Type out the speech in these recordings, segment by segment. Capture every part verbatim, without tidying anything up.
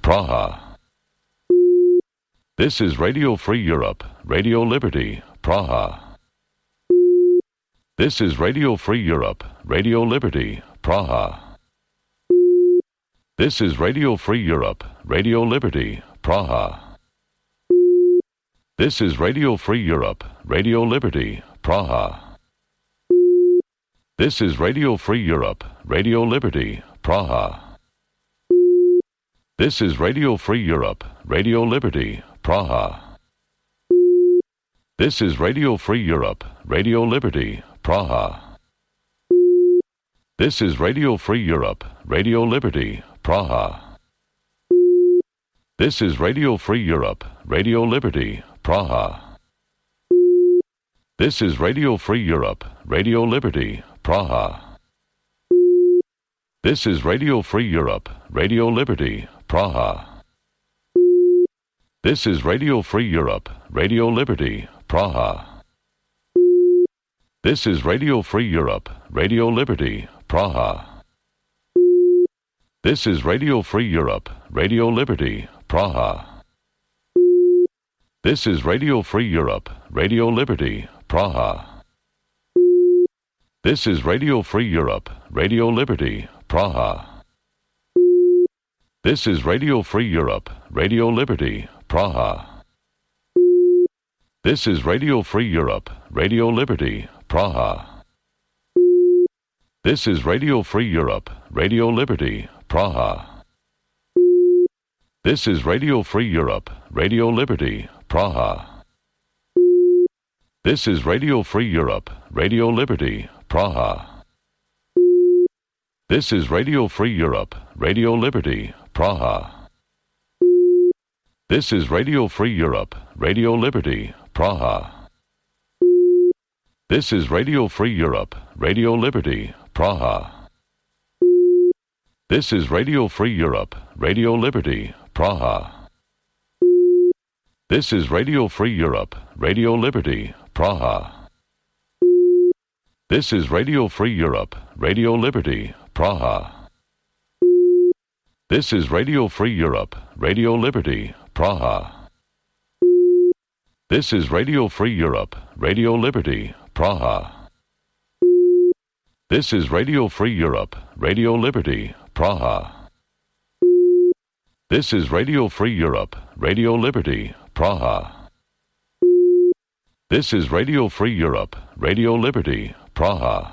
Praha. This is Radio Free Europe, Radio Liberty, Praha. This is Radio Free Europe, Radio Liberty, Praha. This is Radio Free Europe, Radio Liberty, Praha. This is Radio Free Europe, Radio Liberty, Praha. This is Radio Free Europe, Radio Liberty, Praha. This is Radio Free Europe, Radio Liberty, Praha. This is Radio Free Europe, Radio Liberty, Praha. This is Radio Free Europe, Radio Liberty, Praha. This is Radio Free Europe, Radio Liberty, Praha. This is Radio Free Europe, Radio Liberty, Praha. This is Radio Free Europe, Radio Liberty, Praha. This is Radio Free Europe, Radio Liberty, Praha. This is Radio Free Europe, Radio Liberty, Praha. This is Radio Free Europe, Radio Liberty, Praha. This is Radio Free Europe, Radio Liberty, Praha. This is Radio Free Europe, Radio Liberty, Praha. This is Radio Free Europe, Radio Liberty, Praha. This is Radio Free Europe, Radio Liberty, Praha. This is Radio Free Europe, Radio Liberty, Praha. This is Radio Free Europe, Radio Liberty, Praha. This is Radio Free Europe, Radio Liberty, Praha. This is Radio Free Europe, Radio Liberty, Praha. This is Radio Free Europe, Radio Liberty, Praha. This is Radio Free Europe, Radio Liberty, Praha. This is Radio Free Europe, Radio Liberty, Praha. This is Radio Free Europe, Radio Liberty, Praha. This is Radio Free Europe, Radio Liberty, Praha. This is Radio Free Europe, Radio Liberty, Praha. This is Radio Free Europe, Radio Liberty, Praha. This is Radio Free Europe, Radio Liberty, Praha. This is Radio Free Europe, Radio Liberty, Praha. This is Radio Free Europe, Radio Liberty, Praha.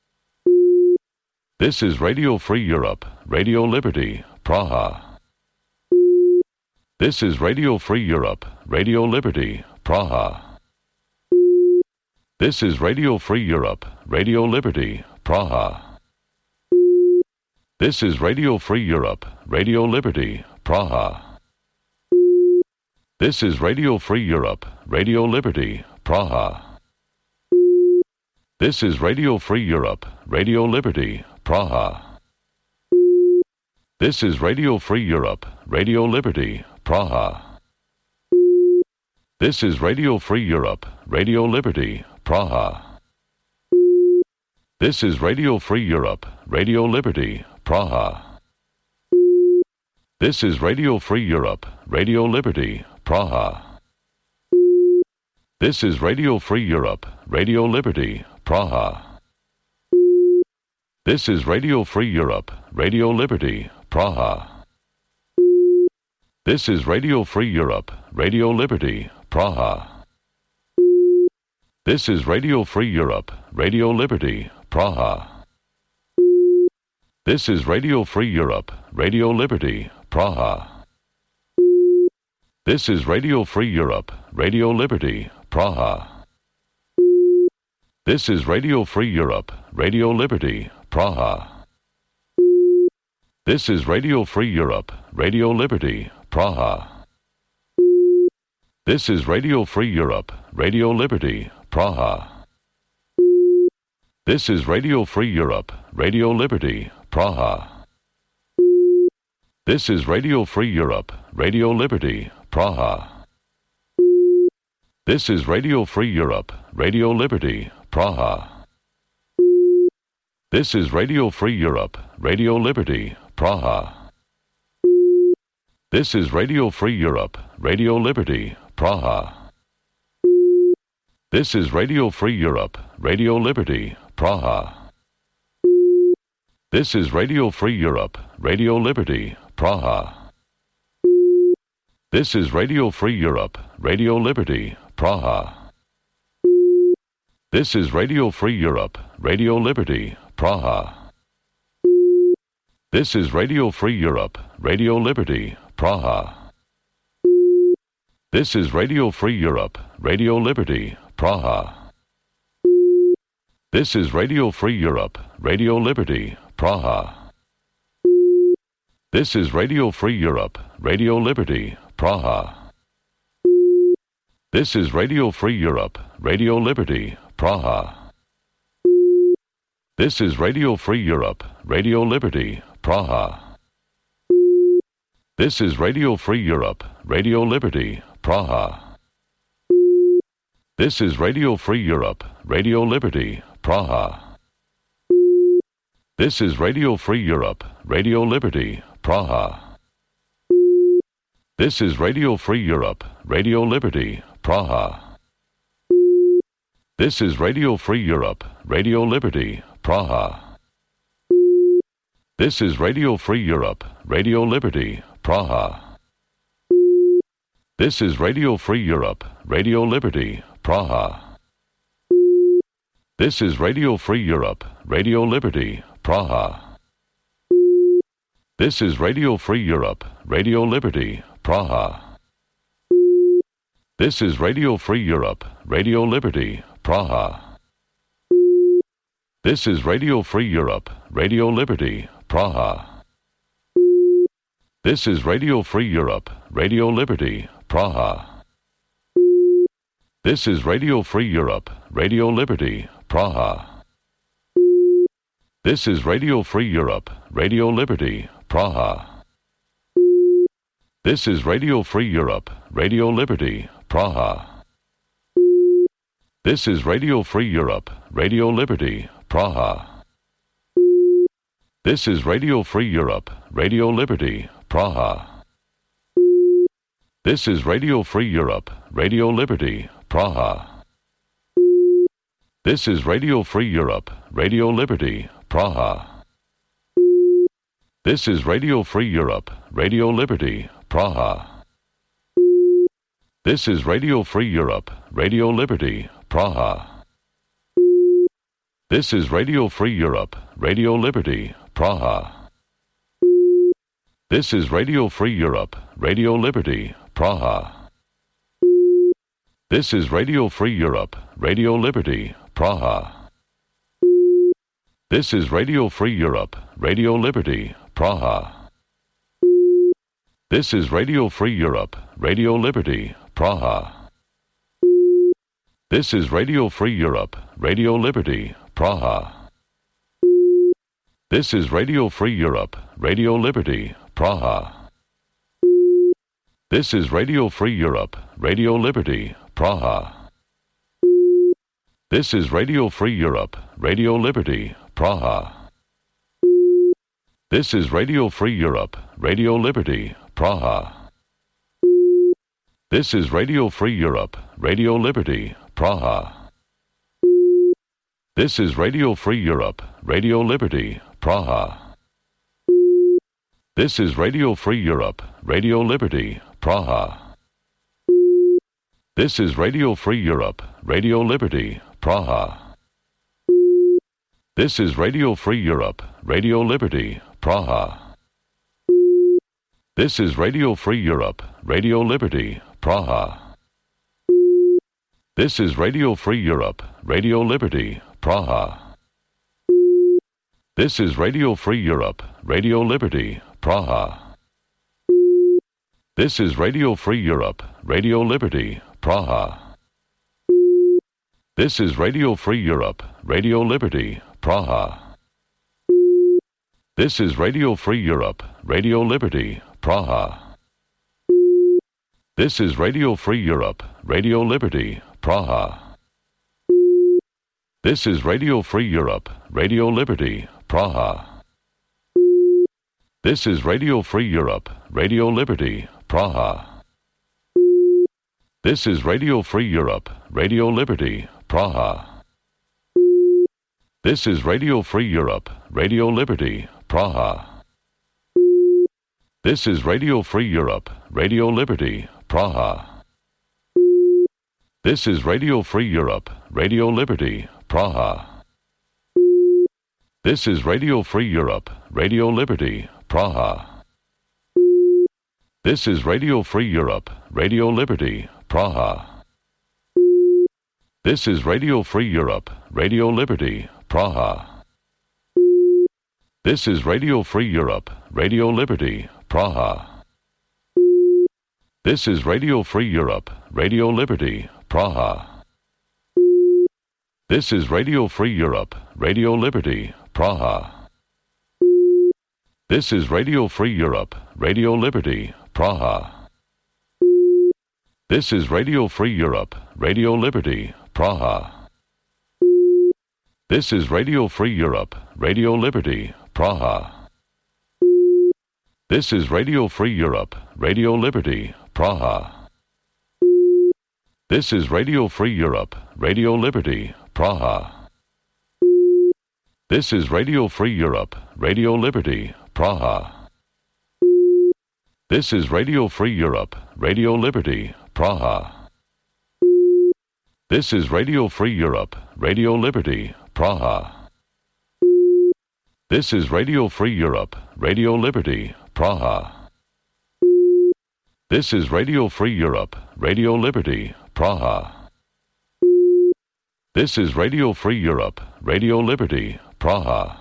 This is Radio Free Europe, Radio Liberty, Praha. This is Radio Free Europe, Radio Liberty, Praha. This is Radio Free Europe, Radio Liberty, Praha. This is Radio Free Europe, Radio Liberty, Praha. This is Radio Free Europe, Radio Liberty, Praha. This is Radio Free Europe, Radio Liberty, Praha. This is Radio Free Europe, Radio Liberty, Praha. This is Radio Free Europe, Radio Liberty, Praha. This is Radio Free Europe, Radio Liberty, Praha. This is Radio Free Europe, Radio Liberty, Praha. This is Radio Free Europe, Radio Liberty, Praha. This is Radio Free Europe, Radio Liberty, Praha. This is Radio Free Europe, Radio Liberty, Praha. This is Radio Free Europe, Radio Liberty, Praha. This is Radio Free Europe, Radio Liberty, Praha. This is Radio Free Europe, Radio Liberty, Praha. This is Radio Free Europe, Radio Liberty, Praha. This is Radio Free Europe, Radio Liberty, Praha. This is Radio Free Europe, Radio Liberty, Praha. This is Radio Free Europe, Radio Liberty, Praha. This is Radio Free Europe, Radio Liberty, Praha. This is Radio Free Europe, Radio Liberty, Praha. This is Radio Free Europe, Radio Liberty, Praha. This is Radio Free Europe, Radio Liberty, Praha. This is Radio Free Europe, Radio Liberty, Praha. This is Radio Free Europe, Radio Liberty, Praha. This is Radio Free Europe, Radio Liberty, Praha. This is Radio Free Europe, Radio Liberty, Praha. This is Radio Free Europe, Radio Liberty, Praha. This is Radio Free Europe, Radio Liberty, Praha. This is Radio Free Europe, Radio Liberty, Praha. This is Radio Free Europe, Radio Liberty, Praha. This is Radio Free Europe, Radio Liberty, Praha. This is Radio Free Europe, Radio Liberty, Praha. This is Radio Free Europe, Radio Liberty, Praha. This is Radio Free Europe, Radio Liberty, Praha. This is Radio Free Europe, Radio Liberty, Praha. This is Radio Free Europe, Radio Liberty, Praha. This is Radio Free Europe, Radio Liberty, Praha. This is Radio Free Europe, Radio Liberty, Praha. This is Radio Free Europe, Radio Liberty, Praha. This is Radio Free Europe, Radio Liberty, Praha. This is Radio Free Europe, Radio Liberty, Praha. This is Radio Free Europe, Radio Liberty, Praha. This is Radio Free Europe, Radio Liberty, Praha. This is Radio Free Europe, Radio Liberty, Praha. This is Radio Free Europe, Radio Liberty, Praha. This is Radio Free Europe, Radio Liberty, Praha. This is Radio Free Europe, Radio Liberty, Praha. This is Radio Free Europe, Radio Liberty, Praha. This is Radio Free Europe, Radio Liberty, Praha. This is Radio Free Europe, Radio Liberty, Praha. This is Radio Free Europe, Radio Liberty, Praha. This is Radio Free Europe, Radio Liberty, Praha. This is Radio Free Europe, Radio Liberty, Praha. This is Radio Free Europe, Radio Liberty, Praha. This is Radio Free Europe, Radio Liberty, Praha. This is Radio Free Europe, Radio Liberty, Praha. This is Radio Free Europe, Radio Liberty, Praha. This is Radio Free Europe, Radio Liberty, Praha. This is Radio Free Europe, Radio Liberty, Praha. This is Radio Free Europe, Radio Liberty, Praha. This is Radio Free Europe, Radio Liberty, Praha. This is Radio Free Europe, Radio Liberty, Praha. This is Radio Free Europe, Radio Liberty, Praha. This is Radio Free Europe, Radio Liberty, Praha. This is Radio Free Europe, Radio Liberty, Praha. This is Radio Free Europe, Radio Liberty, Praha. This is Radio Free Europe, Radio Liberty, Praha. This is Radio Free Europe, Radio Liberty, Praha. This is Radio Free Europe, Radio Liberty, Praha. This is Radio Free Europe, Radio Liberty, Praha. This is Radio Free Europe, Radio Liberty, Praha. This is Radio Free Europe, Radio Liberty, Praha. This is Radio Free Europe, Radio Liberty, Praha. This is Radio Free Europe, Radio Liberty, Praha. This is Radio Free Europe, Radio Liberty, Praha. This is Radio Free Europe, Radio Liberty, Praha. This is Radio Free Europe, Radio Liberty, Praha. This is Radio Free Europe, Radio Liberty, Praha. This is Radio Free Europe, Radio Liberty, Praha. This is Radio Free Europe, Radio Liberty, Praha. This is Radio Free Europe, Radio Liberty, Praha. This is Radio Free Europe, Radio Liberty, Praha. This is Radio Free Europe, Radio Liberty, Praha. This is Radio Free Europe, Radio Liberty, Praha. This is Radio Free Europe, Radio Liberty, Praha. This is Radio Free Europe, Radio Liberty, Praha. This is Radio Free Europe, Radio Liberty, Praha. This is Radio Free Europe, Radio Liberty, Praha. This is Radio Free Europe, Radio Liberty, Praha. This is Radio Free Europe, Radio Liberty, Praha. This is Radio Free Europe, Radio Liberty, Praha. This is Radio Free Europe, Radio Liberty, Praha. This is Radio Free Europe, Radio Liberty, Praha. This is Radio Free Europe, Radio Liberty, Praha. This is Radio Free Europe, Radio Liberty, Praha. This is Radio Free Europe, Radio Liberty, Praha. This is Radio Free Europe, Radio Liberty, Praha. This is Radio Free Europe, Radio Liberty, Praha.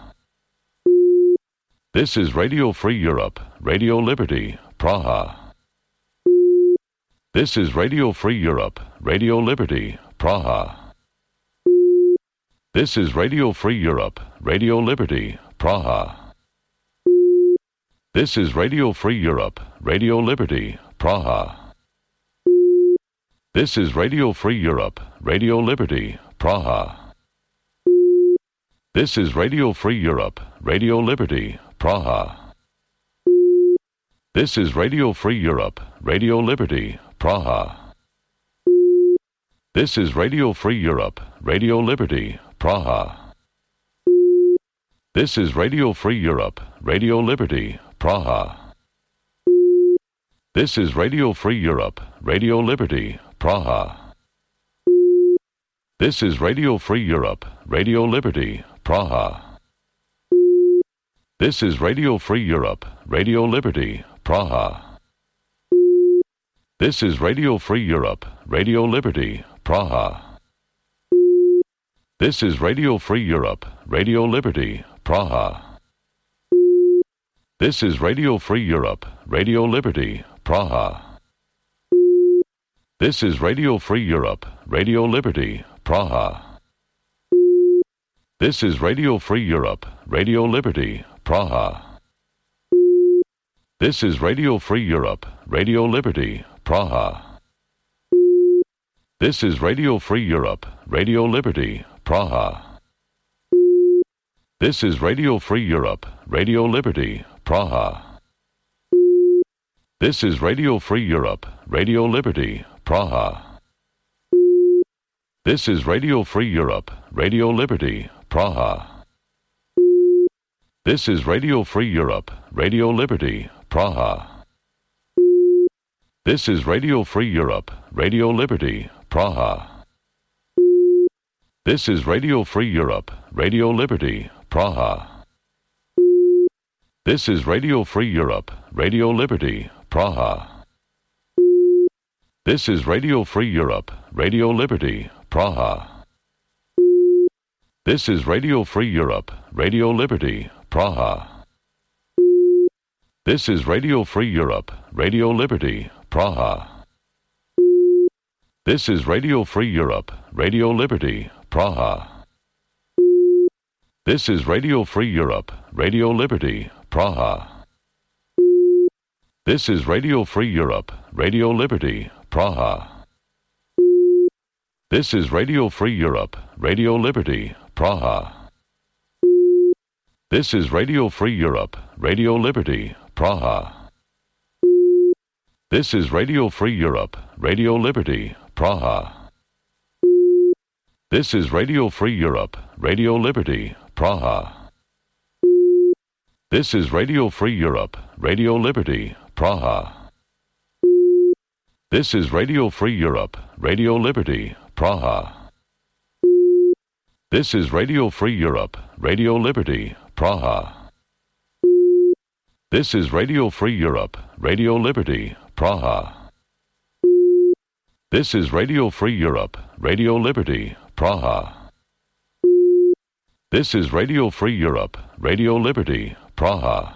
This is Radio Free Europe, Radio Liberty, Praha. This is Radio Free Europe, Radio Liberty, Praha. This is Radio Free Europe, Radio Liberty, Praha. This is Radio Free Europe, Radio Liberty, Praha. This is Radio Free Europe, Radio Liberty, Praha. This is Radio Free Europe, Radio Liberty, Praha. This is Radio Free Europe, Radio Liberty, Praha. This is Radio Free Europe, Radio Liberty, Praha. This is Radio Free Europe, Radio Liberty, Praha. This is Radio Free Europe, Radio Liberty, Praha. This is Radio Free Europe, Radio Liberty, Praha. This is Radio Free Europe, Radio Liberty, Praha. This is Radio Free Europe, Radio Liberty, Praha. This is Radio Free Europe, Radio Liberty, Praha. This is Radio Free Europe, Radio Liberty, Praha. This is Radio Free Europe, Radio Liberty, Praha. This is Radio Free Europe, Radio Liberty, Praha. This is Radio Free Europe, Radio Liberty, Praha. This is Radio Free Europe, Radio Liberty, Praha. This is Radio Free Europe, Radio Liberty, Praha. This is Radio Free Europe, Radio Liberty, Praha. This is Radio Free Europe, Radio Liberty, Praha. This is Radio Free Europe, Radio Liberty, Praha. This is Radio Free Europe, Radio Liberty, Praha. This is Radio Free Europe, Radio Liberty, Praha. This is Radio Free Europe, Radio Liberty, Praha. This is Radio Free Europe, Radio Liberty, Praha. This is Radio Free Europe, Radio Liberty, Praha. This is Radio Free Europe, Radio Liberty, Praha. This is Radio Free Europe, Radio Liberty, Praha. This is Radio Free Europe, Radio Liberty, Praha. This is Radio Free Europe, Radio Liberty, Praha. This is Radio Free Europe, Radio Liberty, Praha. This is Radio Free Europe, Radio Liberty, Praha. This is Radio Free Europe, Radio Liberty, Praha. This is Radio Free Europe, Radio Liberty, Praha. This is Radio Free Europe, Radio Liberty, Praha. This is Radio Free Europe, Radio Liberty, Praha. This is Radio Free Europe, Radio Liberty, Praha. This is Radio Free Europe, Radio Liberty, Praha. This is Radio Free Europe, Radio Liberty, Praha. This is Radio Free Europe, Radio Liberty, Praha.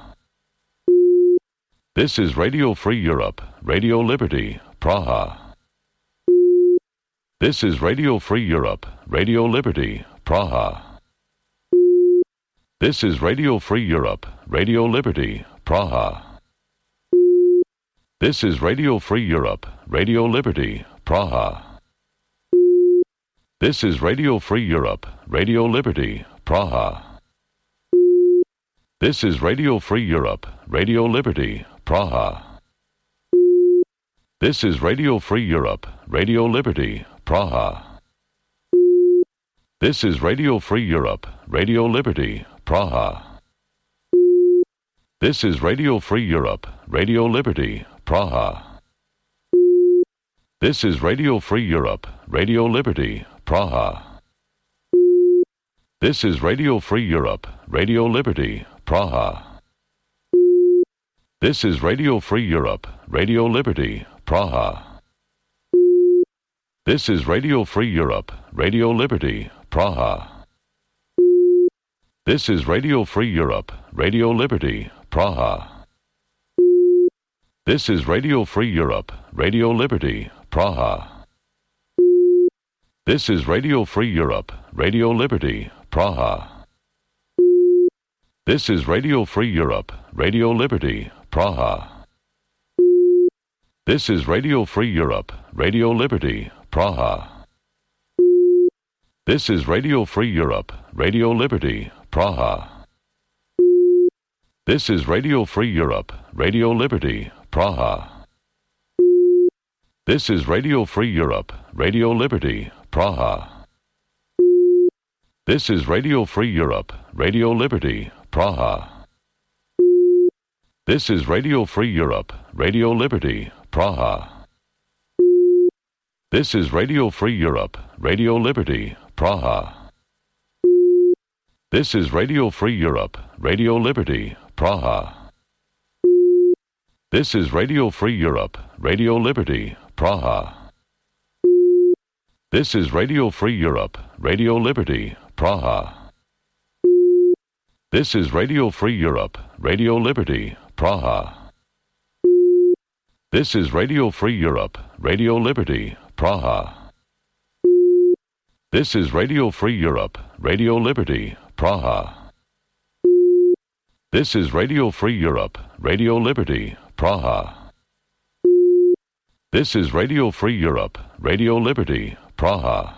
This is Radio Free Europe, Radio Liberty, Praha. This is Radio Free Europe, Radio Liberty, Praha. This is Radio Free Europe, Radio Liberty, Praha. This is Radio Free Europe, Radio Liberty, Praha. This is Radio Free Europe, Radio Liberty, Praha. This is Radio Free Europe, Radio Liberty, Praha. This is Radio Free Europe, Radio Liberty, Praha. This is Radio Free Europe, Radio Liberty, Praha. This is Radio Free Europe, Radio Liberty, Praha. This is Radio Free Europe, Radio Liberty, Praha. This is Radio Free Europe, Radio Liberty, Praha. This is Radio Free Europe, Radio Liberty, Praha. This is Radio Free Europe, Radio Liberty, Praha. This is Radio Free Europe, Radio Liberty, Praha. This is Radio Free Europe, Radio Liberty, Praha. This is Radio Free Europe, Radio Liberty, Praha. This is Radio Free Europe, Radio Liberty, Praha. This is Radio Free Europe, Radio Liberty, Praha. This is Radio Free Europe, Radio Liberty, Praha. This is Radio Free Europe, Radio Liberty, Praha. This is Radio Free Europe, Radio Liberty, Praha. This is Radio Free Europe, Radio Liberty, Praha. This is Radio Free Europe, Radio Liberty, Praha. This is Radio Free Europe, Radio Liberty, Praha. This is Radio Free Europe, Radio Liberty, Praha. This is Radio Free Europe, Radio Liberty, Praha. This is Radio Free Europe, Radio Liberty, Praha. This is Radio Free Europe, Radio Liberty, Praha. This is Radio Free Europe, Radio Liberty, Praha. This is Radio Free Europe, Radio Liberty, Praha. This is Radio Free Europe, Radio Liberty, Praha. This is Radio Free Europe, Radio Liberty, Praha.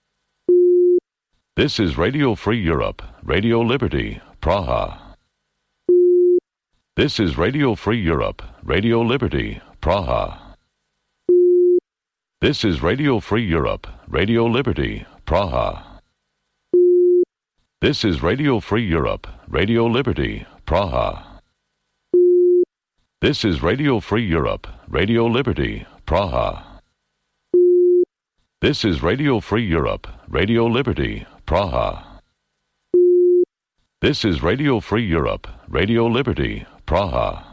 This is Radio Free Europe, Radio Liberty, Praha. This is Radio Free Europe, Radio Liberty, Praha. This is Radio Free Europe, Radio Liberty, Praha. This is Radio Free Europe, Radio Liberty, Praha. This is Radio Free Europe, Radio Liberty, Praha. This is Radio Free Europe, Radio Liberty, Praha. This is Radio Free Europe, Radio Liberty, Praha.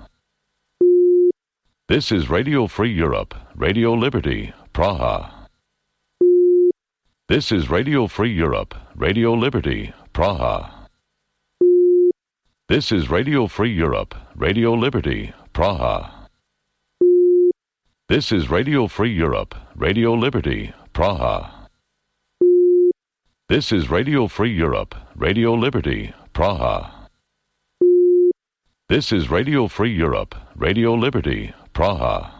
This is Radio Free Europe, Radio Liberty, Praha. This is Radio Free Europe, Radio Liberty, Praha. This is Radio Free Europe, Radio Liberty, Praha. This is Radio Free Europe, Radio Liberty, Praha. This is Radio Free Europe, Radio Liberty, Praha. This is Radio Free Europe, Radio Liberty, Praha.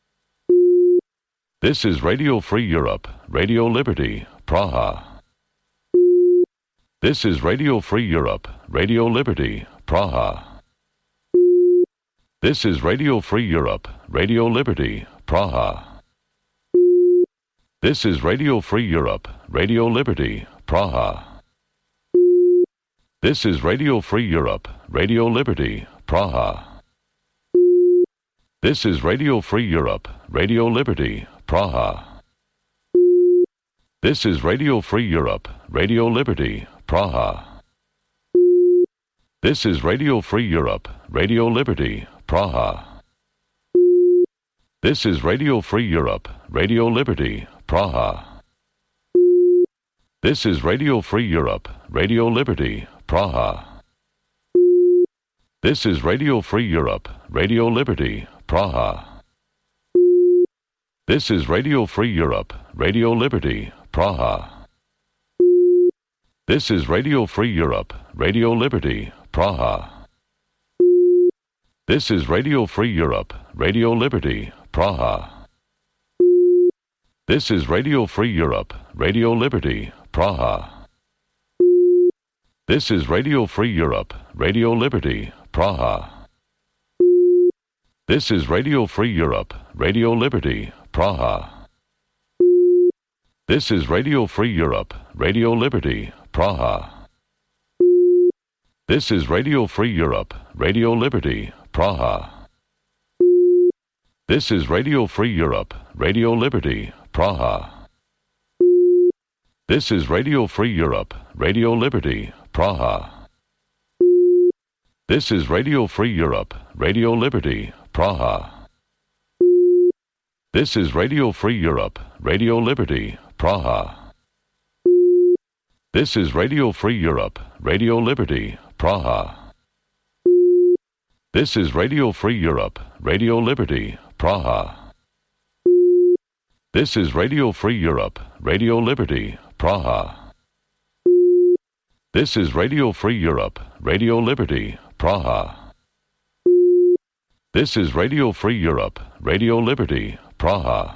This is Radio Free Europe, Radio Liberty, Praha. This is Radio Free Europe, Radio Liberty, Praha. This is Radio Free Europe, Radio Liberty, Praha. This is Radio Free Europe, Radio Liberty, Praha. This is Radio Free Europe, Radio Liberty, Praha. This is Radio Free Europe, Radio Liberty, Praha. This is Radio Free Europe, Radio Liberty, Praha. This is Radio Free Europe, Radio Liberty, Praha. This is Radio Free Europe, Radio Liberty, Praha. This is Radio Free Europe, Radio Liberty, Praha. This is Radio Free Europe, Radio Liberty, Praha. This is Radio Free Europe, Radio Liberty, Praha. This is Radio Free Europe, Radio Liberty, Praha. This is Radio Free Europe, Radio Liberty, Praha. This is Radio Free Europe, Radio Liberty, Praha. This is Radio Free Europe, Radio Liberty, Praha. This is Radio Free Europe, Radio Liberty, Praha. This is Radio Free Europe, Radio Liberty, Praha. This is Radio Free Europe, Radio Liberty, Praha. This is Radio Free Europe, Radio Liberty, Praha. This is Radio Free Europe, Radio Liberty, Praha. This is Radio Free Europe, Radio Liberty, Praha. This is Radio Free Europe, Radio Liberty, Praha. This is Radio Free Europe, Radio Liberty, Praha. This is Radio Free Europe, Radio Liberty, Praha. This is Radio Free Europe, Radio Liberty, Praha. This is Radio Free Europe, Radio Liberty, Praha. This is Radio Free Europe, Radio Liberty, Praha.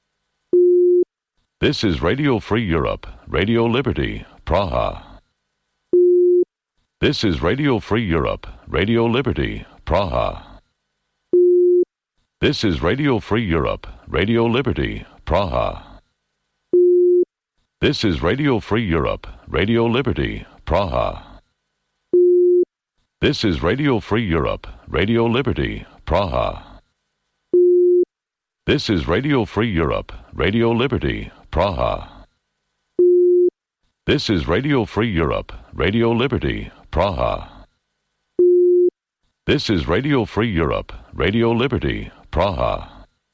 This is Radio Free Europe, Radio Liberty, Praha. This is Radio Free Europe, Radio Liberty, Praha. This is Radio Free Europe, Radio Liberty, Praha. This is Radio Free Europe, Radio Liberty, Praha. This is Radio Free Europe, Radio Liberty, Praha. This is Radio Free Europe, Radio Liberty, Praha. This is Radio Free Europe, Radio Liberty, Praha. This is Radio Free Europe, Radio Liberty, Praha.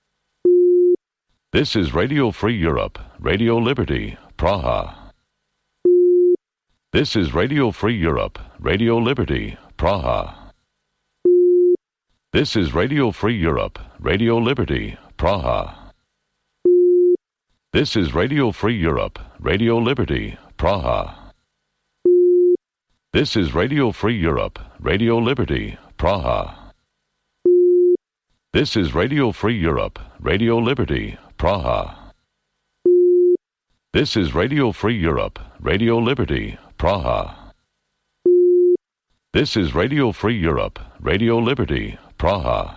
This is Radio Free Europe, Radio Liberty, Praha. This is Radio Free Europe, Radio Liberty, Praha. This is Radio Free Europe, Radio Liberty, Praha. This is Radio Free Europe, Radio Liberty, Praha. This is Radio Free Europe, Radio Liberty, Praha. This is Radio Free Europe, Radio Liberty, Praha. This is Radio Free Europe, Radio Liberty, Praha. This is Radio Free Europe, Radio Liberty, Praha.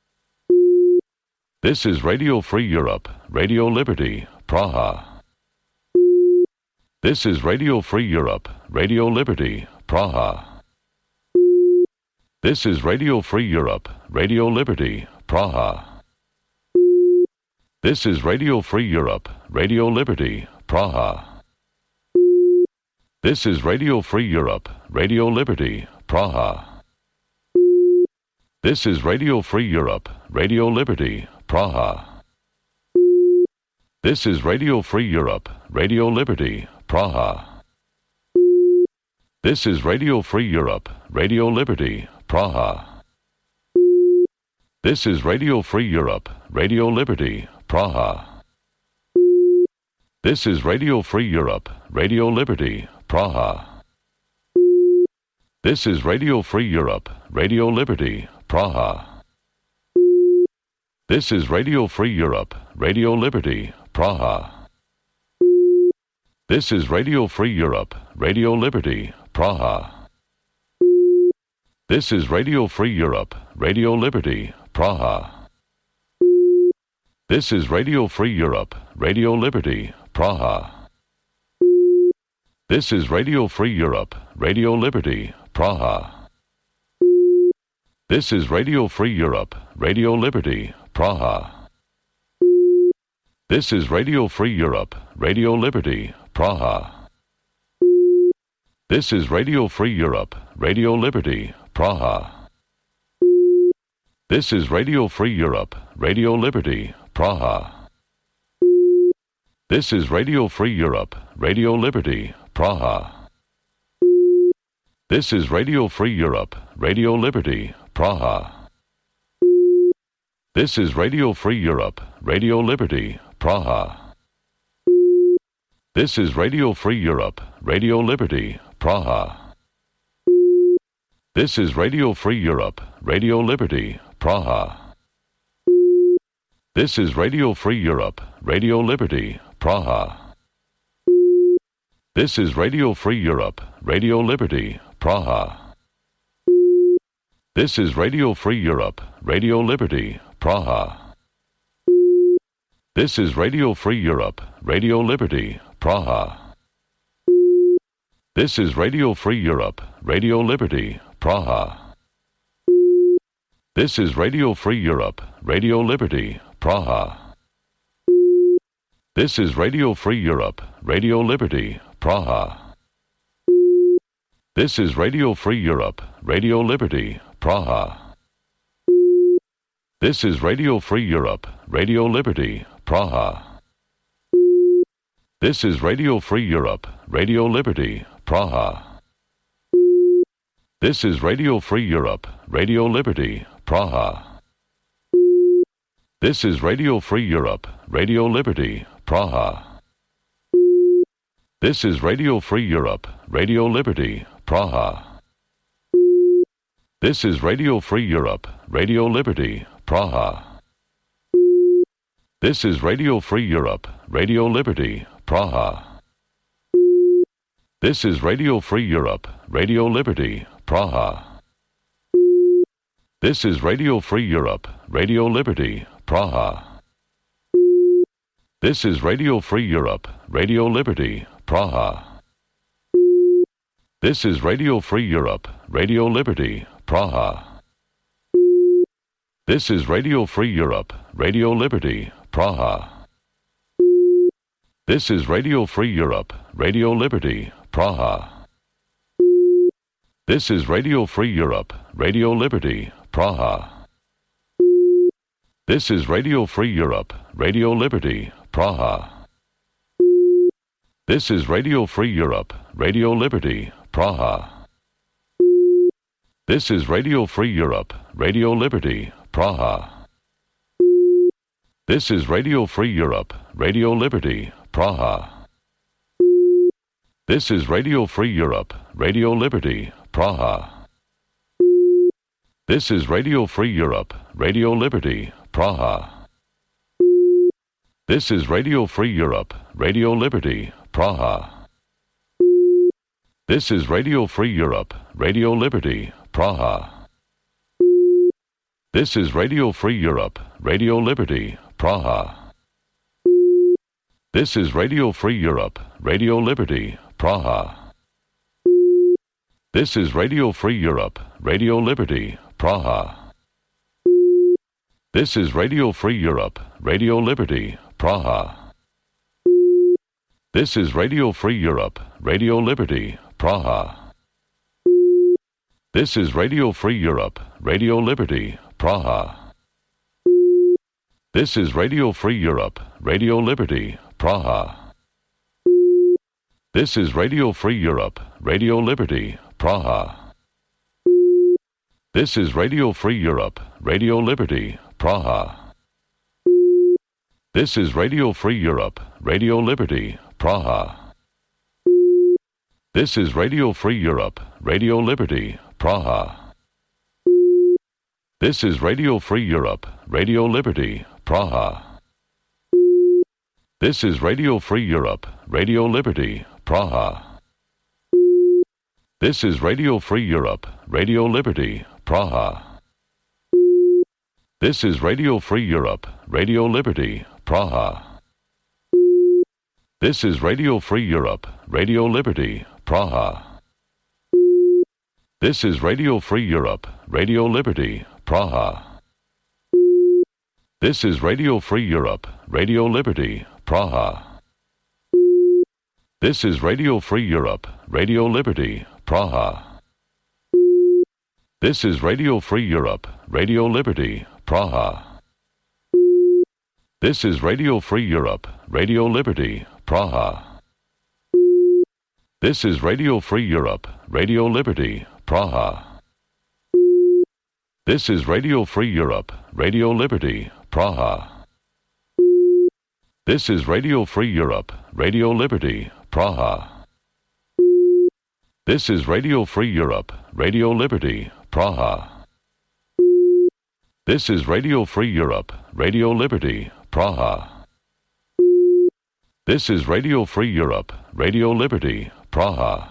This is Radio Free Europe, Radio Liberty, Praha. This is Radio Free Europe, Radio Liberty, Praha. This is Radio Free Europe, Radio Liberty, Praha. This is Radio Free Europe, Radio Liberty, Praha. This is Radio Free Europe, Radio Liberty, Praha. This is Radio Free Europe, Radio Liberty, Praha. This is Radio Free Europe, Radio Liberty, Praha. This is Radio Free Europe, Radio Liberty, Praha. This is Radio Free Europe, Radio Liberty, Praha. This is Radio Free Europe, Radio Liberty, Praha. This is Radio Free Europe, Radio Liberty, Praha. This is Radio Free Europe, Radio Liberty, Praha. This is Radio Free Europe, Radio Liberty, Praha. This is Radio Free Europe, Radio Liberty, Praha. This is Radio Free Europe, Radio Liberty, Praha. This is Radio Free Europe, Radio Liberty, Praha. This is Radio Free Europe, Radio Liberty, Praha. This is Radio Free Europe, Radio Liberty, Praha. This is Radio Free Europe, Radio Liberty, Praha. This is Radio Free Europe, Radio Liberty, Praha. This is Radio Free Europe, Radio Liberty, Praha. This is Radio Free Europe, Radio Liberty, Praha. This is Radio Free Europe, Radio Liberty, Praha. This is Radio Free Europe, Radio Liberty, Praha. This is Radio Free Europe, Radio Liberty, Praha. This is Radio Free Europe, Radio Liberty, Praha. This is Radio Free Europe, Radio Liberty, Praha. This is Radio Free Europe, Radio Liberty, Praha. This is Radio Free Europe, Radio Liberty, Praha. This is Radio Free Europe, Radio Liberty, Praha. This is Radio Free Europe, Radio Liberty, Praha. This is Radio Free Europe, Radio Liberty, Praha. This is Radio Free Europe, Radio Liberty, Praha. This is Radio Free Europe, Radio Liberty, Praha. This is Radio Free Europe, Radio Liberty, Praha. This is Radio Free Europe, Radio Liberty, Praha. This is Radio Free Europe, Radio Liberty, Praha. This is Radio Free Europe, Radio Liberty, Praha. This is Radio Free Europe, Radio Liberty, Praha. This is Radio Free Europe, Radio Liberty, Praha. This is Radio Free Europe, Radio Liberty, Praha. This is Radio Free Europe, Radio Liberty, Praha. This is Radio Free Europe, Radio Liberty, Praha. This is Radio Free Europe, Radio Liberty, Praha. This is Radio Free Europe, Radio Liberty, Praha. This is Radio Free Europe, Radio Liberty, Praha. This is Radio Free Europe, Radio Liberty, Praha. This is Radio Free Europe, Radio Liberty, Praha. This is Radio Free Europe, Radio Liberty, Praha. This is Radio Free Europe, Radio Liberty, Praha. This is Radio Free Europe, Radio Liberty, Praha. This is Radio Free Europe, Radio Liberty, Praha. This is Radio Free Europe, Radio Liberty, Praha. This is Radio Free Europe, Radio Liberty, Praha. This is Radio Free Europe, Radio Liberty, Praha. This is Radio Free Europe, Radio Liberty, Praha. This is Radio Free Europe, Radio Liberty, Praha. This is Radio Free Europe, Radio Liberty, Praha. This is Radio Free Europe, Radio Liberty, Praha. This is Radio Free Europe, Radio Liberty, Praha. This is Radio Free Europe, Radio Liberty, Praha. This is Radio Free Europe, Radio Liberty, Praha. This is Radio Free Europe, Radio Liberty, Praha. This is Radio Free Europe, Radio Liberty, Praha. This is Radio Free Europe, Radio Liberty, Praha. This is Radio Free Europe, Radio Liberty, Praha. This is Radio Free Europe, Radio Liberty, Praha. This is Radio Free Europe, Radio Liberty, Praha. This is Radio Free Europe, Radio Liberty, Praha. This is Radio Free Europe, Radio Liberty, Praha. This is Radio Free Europe, Radio Liberty, Praha. This is Radio Free Europe, Radio Liberty, Praha. This is Radio Free Europe, Radio Liberty, Praha. This is Radio Free Europe, Radio Liberty, Praha. This is Radio Free Europe, Radio Liberty, Praha. This is Radio Free Europe, Radio Liberty, Praha. This is Radio Free Europe, Radio Liberty, Praha. This is Radio Free Europe, Radio Liberty, Praha. This is Radio Free Europe, Radio Liberty, Praha. This is Radio Free Europe, Radio Liberty, Praha. This is Radio Free Europe, Radio Liberty, Praha. This is Radio Free Europe, Radio Liberty, Praha.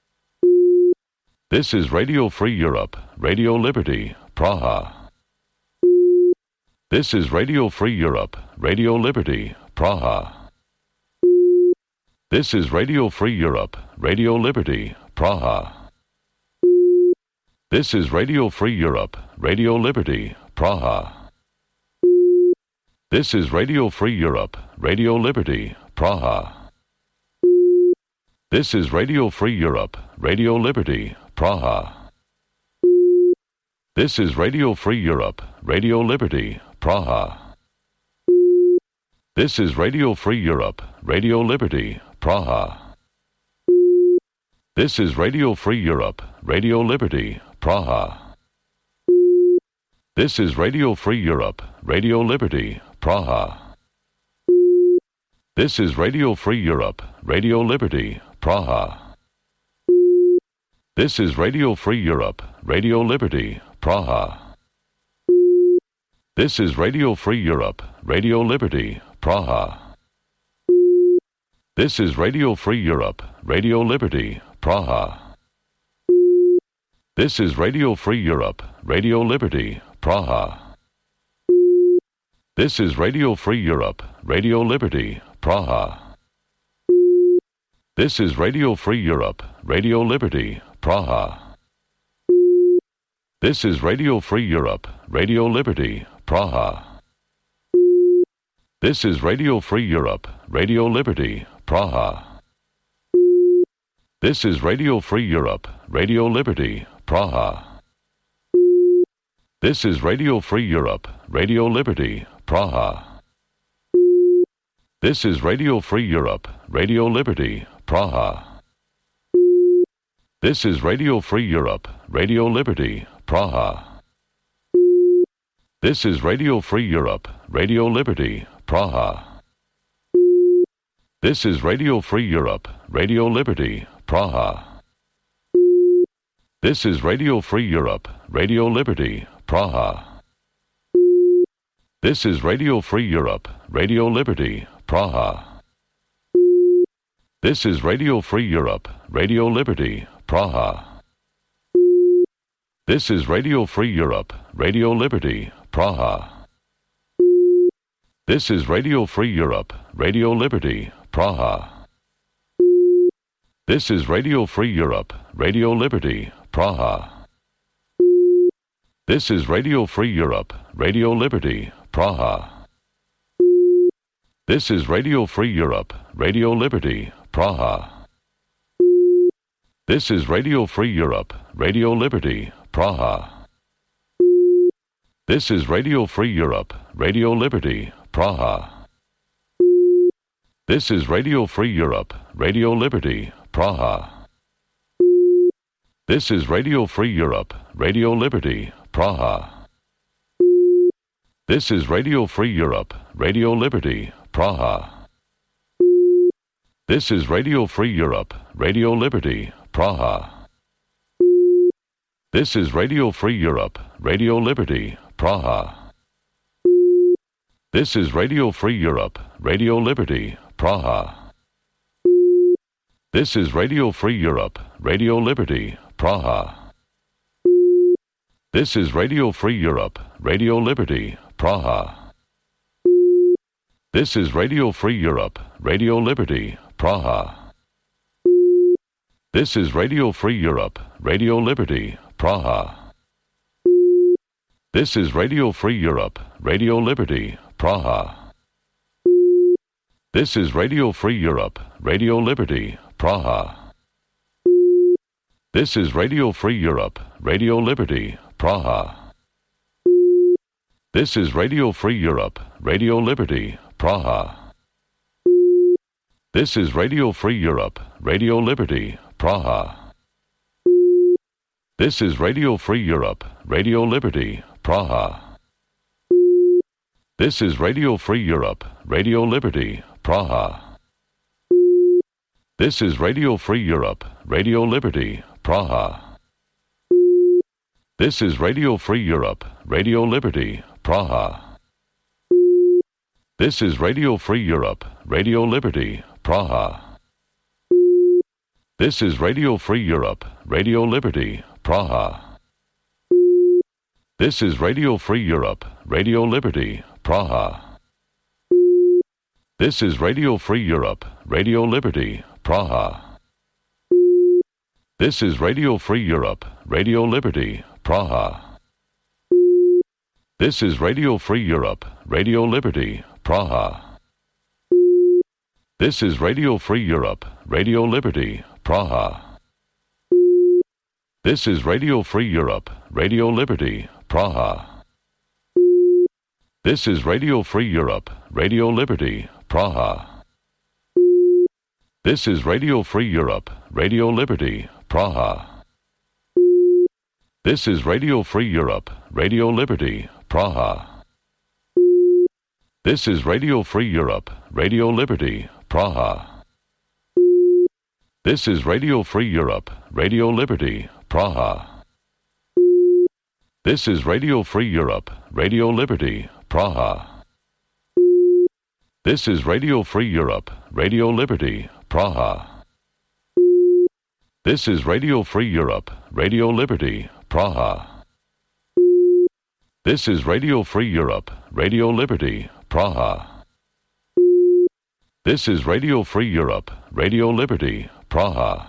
This is Radio Free Europe, Radio Liberty, Praha. This is Radio Free Europe, Radio Liberty, Praha. This is Radio Free Europe, Radio Liberty, Praha. This is Radio Free Europe, Radio Liberty, Praha. This is Radio Free Europe, Radio Liberty, Praha. This is Radio Free Europe, Radio Liberty, Praha. This is Radio Free Europe, Radio Liberty, Praha. This is Radio Free Europe, Radio Liberty, Praha. This is Radio Free Europe, Radio Liberty, Praha. This is Radio Free Europe, Radio Liberty, Praha. This is Radio Free Europe, Radio Liberty, Praha. This is Radio Free Europe, Radio Liberty, Praha. This is Radio Free Europe, Radio Liberty, Praha. This is Radio Free Europe, Radio Liberty, Praha. This is Radio Free Europe, Radio Liberty, Praha. This is Radio Free Europe, Radio Liberty, Praha. This is Radio Free Europe, Radio Liberty, Praha. This is Radio Free Europe, Radio Liberty, Praha. This is Radio Free Europe, Radio Liberty, Praha. This is Radio Free Europe, Radio Liberty, Praha. This is Radio Free Europe, Radio Liberty, Praha. This is Radio Free Europe, Radio Liberty, Praha. This is Radio Free Europe, Radio Liberty, Praha. This is Radio Free Europe, Radio Liberty, Praha. This is Radio Free Europe, Radio Liberty, Praha. This is Radio Free Europe, Radio Liberty, Praha. This is Radio Free Europe, Radio Liberty, Praha. This is Radio Free Europe, Radio Liberty, Praha. This is Radio Free Europe, Radio Liberty, Praha. This is Radio Free Europe, Radio Liberty, Praha. This is Radio Free Europe, Radio Liberty, Praha. This is Radio Free Europe, Radio Liberty, Praha. This is Radio Free Europe, Radio Liberty, Praha. This is Radio Free Europe, Radio Liberty, Praha. This is Radio Free Europe, Radio Liberty, Praha. This is Radio Free Europe, Radio Liberty, Praha. This is Radio Free Europe, Radio Liberty, Praha. This is Radio Free Europe, Radio Liberty, Praha. This is Radio Free Europe, Radio Liberty, Praha. This is Radio Free Europe, Radio Liberty, Praha. This is Radio Free Europe, Radio Liberty, Praha. This is Radio Free Europe, Radio Liberty, Praha. This is Radio Free Europe, Radio Liberty, Praha. This is Radio Free Europe, Radio Liberty, Praha. This is Radio Free Europe, Radio Liberty, Praha. This is Radio Free Europe, Radio Liberty, Praha. This is Radio Free Europe, Radio Liberty, Praha. This is Radio Free Europe, Radio Liberty, Praha. This is Radio Free Europe, Radio Liberty, Praha. This is Radio Free Europe, Radio Liberty, Praha. This is Radio Free Europe, Radio Liberty, Praha. This is Radio Free Europe, Radio Liberty, Praha. This is Radio Free Europe, Radio Liberty, Praha. This is Radio Free Europe, Radio Liberty, Praha. This is Radio Free Europe, Radio Liberty, Praha. This is Radio Free Europe, Radio Liberty, Praha. This is Radio Free Europe, Radio Liberty, Praha. This is Radio Free Europe, Radio Liberty, Praha. This is Radio Free Europe, Radio Liberty, Praha. This is Radio Free Europe, Radio Liberty, Praha. This is Radio Free Europe, Radio Liberty, Praha. This is Radio Free Europe, Radio Liberty, Praha. This is Radio Free Europe, Radio Liberty, Praha. This is Radio Free Europe, Radio Liberty, Praha. This is Radio Free Europe, Radio Liberty, Praha. This is Radio Free Europe, Radio Liberty, Praha. This is Radio Free Europe, Radio Liberty, Praha. This is Radio Free Europe, Radio Liberty, Praha. This is Radio Free Europe, Radio Liberty, Praha. This is Radio Free Europe, Radio Liberty, Praha. This is Radio Free Europe, Radio Liberty, Praha. This is Radio Free Europe, Radio Liberty, Praha.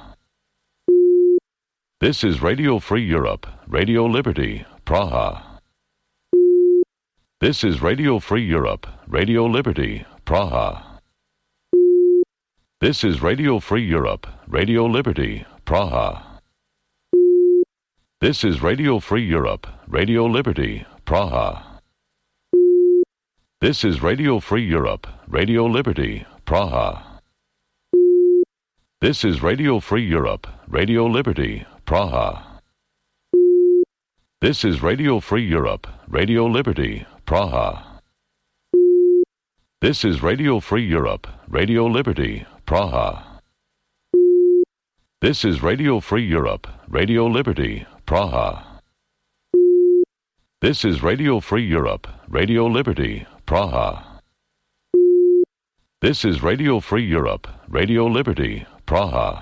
This is Radio Free Europe, Radio Liberty, Praha. This is Radio Free Europe, Radio Liberty, Praha. This is Radio Free Europe, Radio Liberty, Praha. This is Radio Free Europe, Radio Liberty, Praha. This is Radio Free Europe, Radio Liberty, Praha. This is Radio Free Europe, Radio Liberty, Praha. This is Radio Free Europe, Radio Liberty, Praha. This is Radio Free Europe, Radio Liberty, Praha. This is Radio Free Europe, Radio Liberty, Praha. This is Radio Free Europe, Radio Liberty, Praha. This is Radio Free Europe, Radio Liberty, Praha.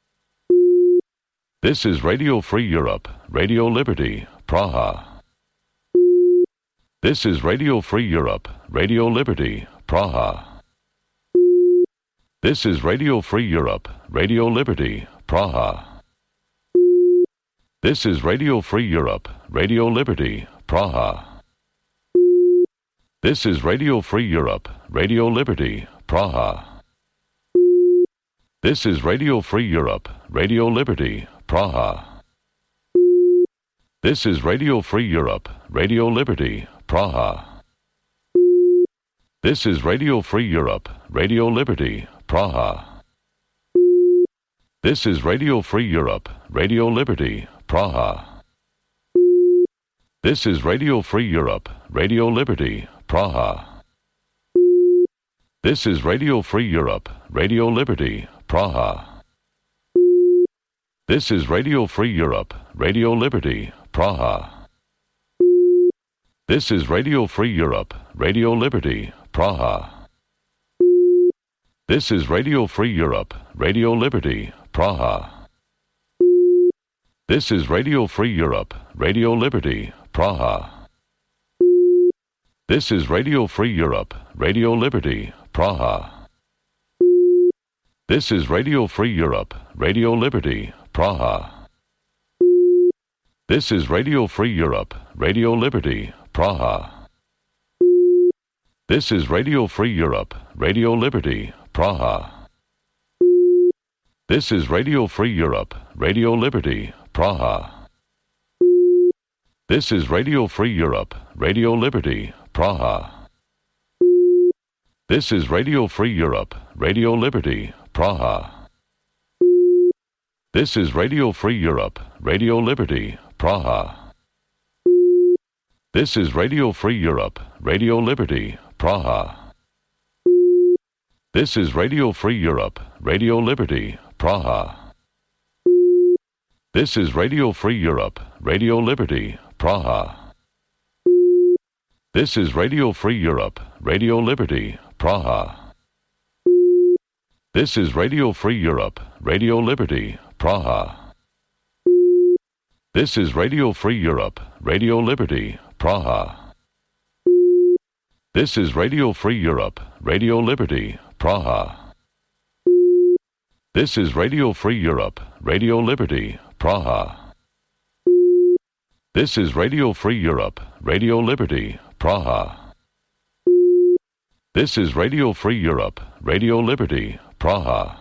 This is Radio Free Europe, Radio Liberty, Praha. This is Radio Free Europe, Radio Liberty, Praha. This is Radio Free Europe, Radio Liberty, Praha. This is Radio Free Europe, Radio Liberty, Praha. This is Radio Free Europe, Radio Liberty, Praha. This is Radio Free Europe, Radio Liberty, Praha. This is Radio Free Europe, Radio Liberty, Praha. This is Radio Free Europe, Radio Liberty, Praha. This is Radio Free Europe, Radio Liberty, Praha. This is Radio Free Europe, Radio Liberty, Praha. This is Radio Free Europe, Radio Liberty, Praha. This is Radio Free Europe, Radio Liberty, Praha. This is Radio Free Europe, Radio Liberty, Praha. This is Radio Free Europe, Radio Liberty, Praha. This is Radio Free Europe, Radio Liberty, Praha. This is Radio Free Europe, Radio Liberty, Praha. This is Radio Free Europe, Radio Liberty, Praha. This is Radio Free Europe, Radio Liberty, Praha. This is Radio Free Europe, Radio Liberty, Praha. This is Radio Free Europe, Radio Liberty, Praha. This is Radio Free Europe, Radio Liberty, Praha. This is Radio Free Europe, Radio Liberty, Praha. This is Radio Free Europe, Radio Liberty, Praha. This is Radio Free Europe, Radio Liberty, Praha. This is Radio Free Europe, Radio Liberty, Praha. This is Radio Free Europe, Radio Liberty, Praha. This is Radio Free Europe, Radio Liberty, Praha. This is Radio Free Europe, Radio Liberty, Praha. This is Radio Free Europe, Radio Liberty, Praha. This is Radio Free Europe, Radio Liberty, Praha. This is Radio Free Europe, Radio Liberty, Praha. This is Radio Free Europe, Radio Liberty, Praha. This is Radio Free Europe, Radio Liberty, Praha.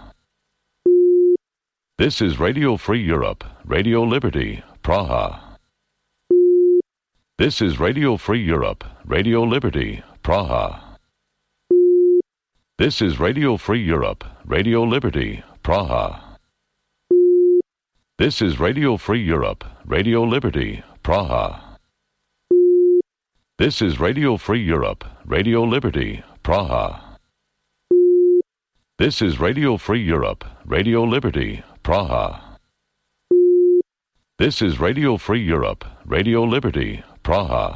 This is Radio Free Europe, Radio Liberty, Praha. This is Radio Free Europe, Radio Liberty, Praha. This is Radio Free Europe, Radio Liberty, Praha. This is Radio Free Europe, Radio Liberty, Praha. This is Radio Free Europe, Radio Liberty, Praha. This is Radio Free Europe, Radio Liberty, Praha. This is Radio Free Europe, Radio Liberty, Praha.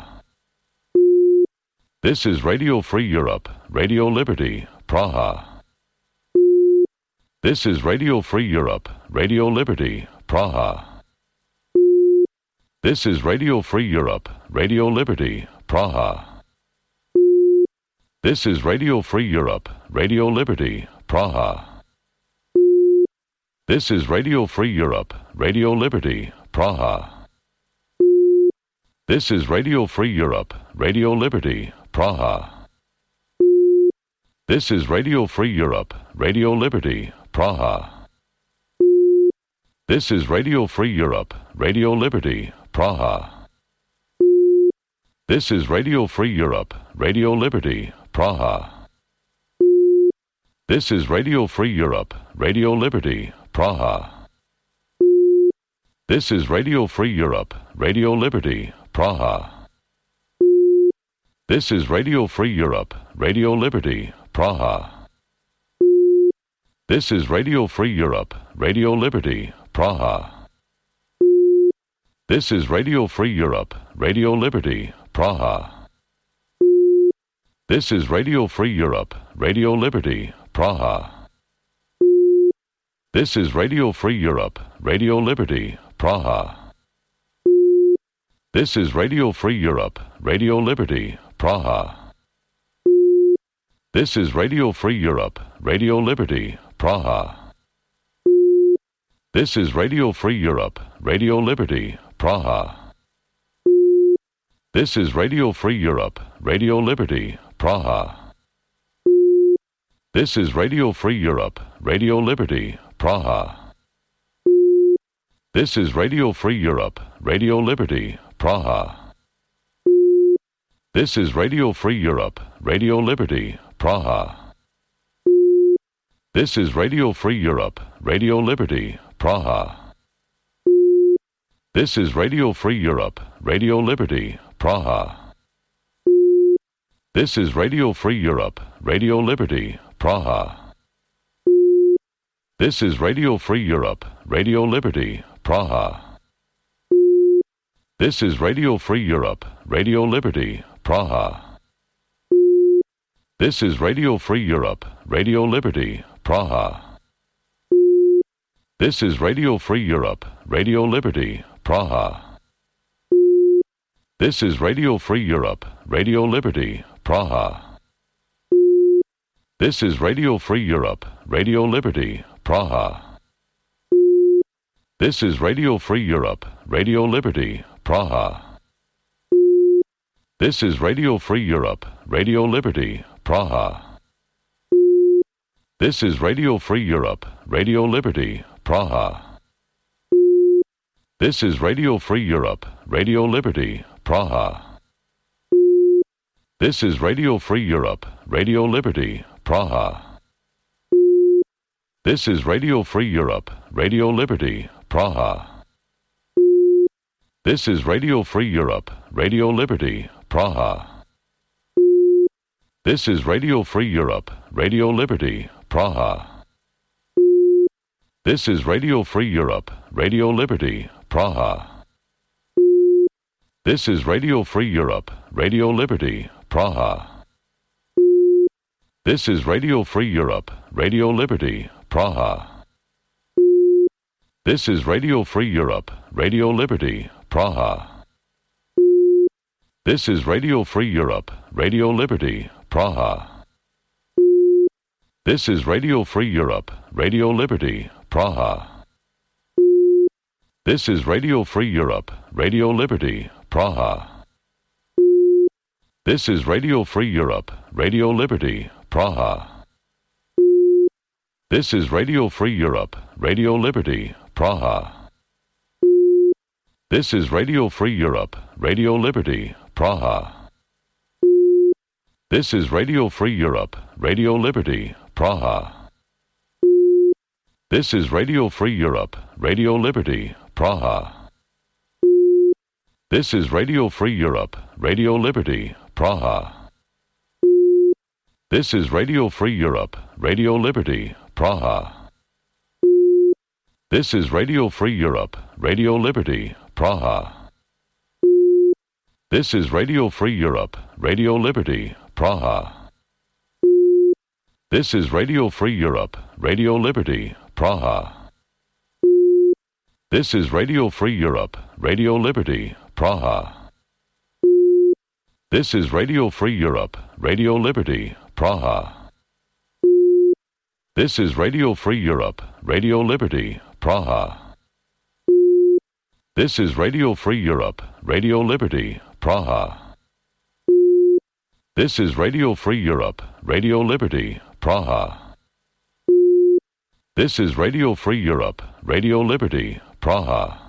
This is Radio Free Europe, Radio Liberty, Praha. This is Radio Free Europe, Radio Liberty, Praha. This is Radio Free Europe, Radio Liberty, Praha. This is Radio Free Europe, Radio Liberty, Praha. This is Radio Free Europe, Radio Liberty, Praha. This is Radio Free Europe, Radio Liberty, Praha. This is Radio Free Europe, Radio Liberty, Praha. This is Radio Free Europe, Radio Liberty, Praha. This is Radio Free Europe, Radio Liberty, Praha. This is Radio Free Europe, Radio Liberty, Praha. This is Radio Free Europe, Radio Liberty, Praha. This is Radio Free Europe, Radio Liberty, Praha. This is Radio Free Europe, Radio Liberty, Praha. This is Radio Free Europe, Radio Liberty, Praha. This is Radio Free Europe, Radio Liberty, Praha. This is Radio Free Europe, Radio Liberty, Praha. This is Radio Free Europe, Radio Liberty, Praha. This is Radio Free Europe, Radio Liberty, Praha. This is Radio Free Europe, Radio Liberty, Praha. This is Radio Free Europe, Radio Liberty, Praha. This is Radio Free Europe, Radio Liberty, Praha. This is Radio Free Europe, Radio Liberty, Praha. This is Radio Free Europe, Radio Liberty, Praha. This is Radio Free Europe, Radio Liberty, Praha. This is Radio Free Europe, Radio Liberty, Praha. This is Radio Free Europe, Radio Liberty, Praha. This is Radio Free Europe, Radio Liberty, Praha. This is Radio Free Europe, Radio Liberty, Praha. This is Radio Free Europe, Radio Liberty, Praha. This is Radio Free Europe, Radio Liberty, Praha. This is Radio Free Europe, Radio Liberty, Praha. This is Radio Free Europe, Radio Liberty, Praha. This is Radio Free Europe, Radio Liberty, Praha. This is Radio Free Europe, Radio Liberty, Praha. This is Radio Free Europe, Radio Liberty, Praha. This is Radio Free Europe, Radio Liberty, Praha. This is Radio Free Europe, Radio Liberty, Praha. This is Radio Free Europe, Radio Liberty, Praha. This is Radio Free Europe, Radio Liberty, Praha. This is Radio Free Europe, Radio Liberty, Praha. This is Radio Free Europe, Radio Liberty, Praha. This is Radio Free Europe, Radio Liberty, Praha. This is Radio Free Europe, Radio Liberty, Praha. This is Radio Free Europe, Radio Liberty, Praha. This is Radio Free Europe, Radio Liberty, Praha. This is Radio Free Europe, Radio Liberty, Praha. This is Radio Free Europe, Radio Liberty, Praha. This is Radio Free Europe, Radio Liberty, Praha. This is Radio Free Europe, Radio Liberty, Praha. This is Radio Free Europe, Radio Liberty, Praha. This is Radio Free Europe, Radio Liberty, Praha. This is Radio Free Europe, Radio Liberty, Praha. This is Radio Free Europe, Radio Liberty, Praha. This is Radio Free Europe, Radio Liberty, Praha. This is Radio Free Europe, Radio Liberty, Praha. This is Radio Free Europe, Radio Liberty, Praha. This is Radio Free Europe, Radio Liberty, Praha. This is Radio Free Europe, Radio Liberty, Praha. This is Radio Free Europe, Radio Liberty, Praha. This is Radio Free Europe, Radio Liberty, Praha. This is Radio Free Europe, Radio Liberty, Praha. This is Radio Free Europe, Radio Liberty, Praha. This is Radio Free Europe, Radio Liberty, Praha.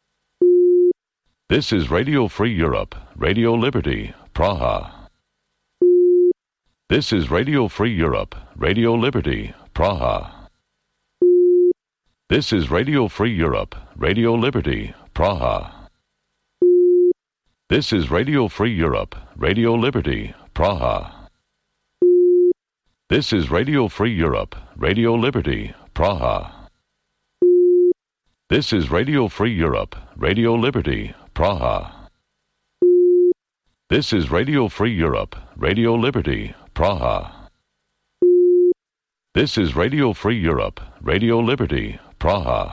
This is Radio Free Europe, Radio Liberty, Praha. This is Radio Free Europe, Radio Liberty, Praha. This is Radio Free Europe, Radio Liberty, Praha. This is Radio Free Europe, Radio Liberty, Praha. This is Radio Free Europe, Radio Liberty, Praha. This is Radio Free Europe, Radio Liberty, Praha. This is Radio Free Europe, Radio Liberty, Praha. This is Radio Free Europe, Radio Liberty, Praha.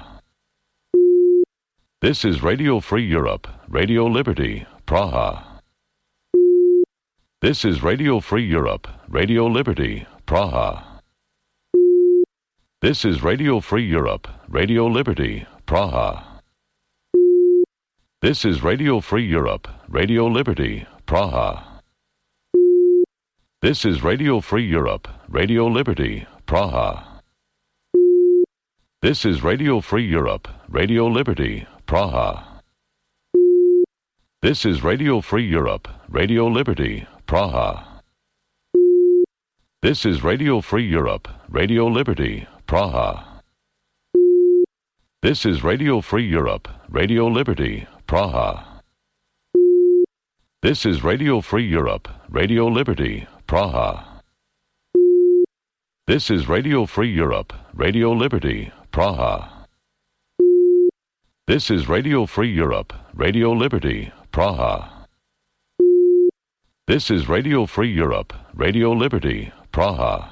This is Radio Free Europe, Radio Liberty, Praha. This is Radio Free Europe, Radio Liberty, Praha. This is Radio Free Europe, Radio Liberty, Praha. This is Radio Free Europe, Radio Liberty, Praha. This is Radio Free Europe, Radio Liberty, Praha. This is Radio Free Europe, Radio Liberty, Praha. This is Radio Free Europe, Radio Liberty, Praha. This is Radio Free Europe, Radio Liberty, Praha. This is Radio Free Europe, Radio Liberty, Praha. This is Radio Free Europe, Radio Liberty, Praha. This is Radio Free Europe, Radio Liberty, Praha. This is Radio Free Europe, Radio Liberty, Praha. This is Radio Free Europe, Radio Liberty, Praha.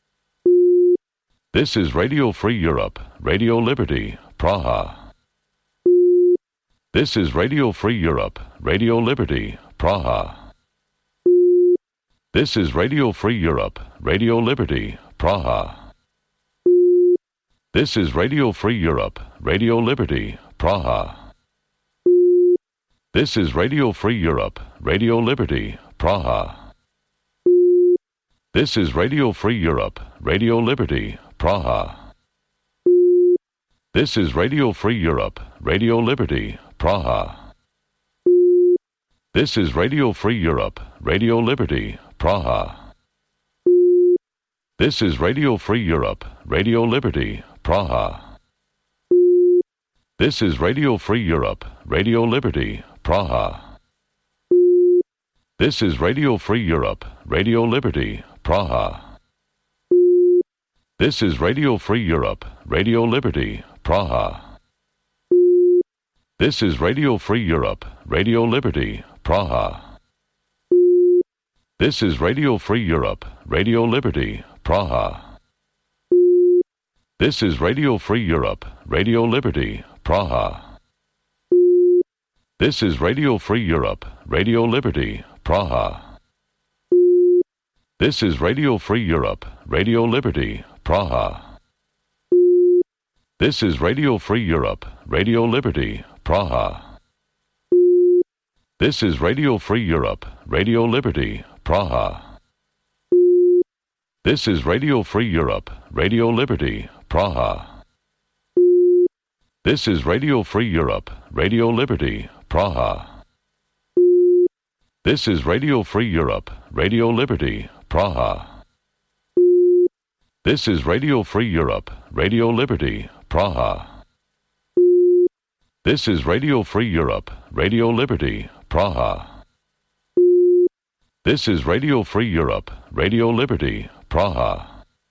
This is Radio Free Europe, Radio Liberty, Praha. This is Radio Free Europe, Radio Liberty, Praha. This is Radio Free Europe, Radio Liberty, Praha. This is Radio Free Europe, Radio Liberty, Praha. This is Radio Free Europe, Radio Liberty, Praha. This is Radio Free Europe, Radio Liberty, Praha. This is Radio Free Europe, Radio Liberty, Praha. This is Radio Free Europe, Radio Liberty, Praha. This is Radio Free Europe, Radio Liberty, Praha. This is Radio Free Europe, Radio Liberty, Praha. This is Radio Free Europe, Radio Liberty, Praha. This is Radio Free Europe, Radio Liberty, Praha. This is Radio Free Europe, Radio Liberty, Praha. This is Radio Free Europe, Radio Liberty, Praha. This is Radio Free Europe, Radio Liberty, Praha. This is Radio Free Europe, Radio Liberty, Praha. This is Radio Free Europe, Radio Liberty, Praha. This is Radio Free Europe, Radio Liberty, Praha. This is Radio Free Europe, Radio Liberty, Praha. This is Radio Free Europe, Radio Liberty, Praha. This is Radio Free Europe, Radio Liberty, Praha. This is Radio Free Europe, Radio Liberty, Praha. This is Radio Free Europe, Radio Liberty, Praha. This is Radio Free Europe, Radio Liberty, Praha. This is Radio Free Europe, Radio Liberty, Praha.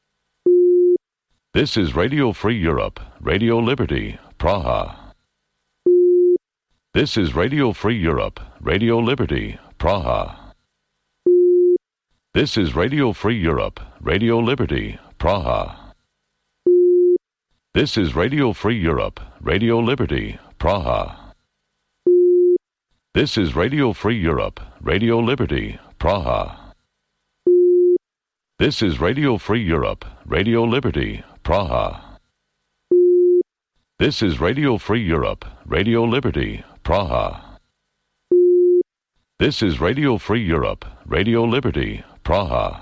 This is Radio Free Europe, Radio Liberty, Praha. This is Radio Free Europe, Radio Liberty, Praha. This is Radio Free Europe, Radio Liberty, Praha. This is Radio Free Europe, Radio Liberty, Praha. This is Radio Free Europe, Radio Liberty, Praha. This is Radio Free Europe, Radio Liberty, Praha. This is Radio Free Europe, Radio Liberty, Praha. This is Radio Free Europe, Radio Liberty, Praha.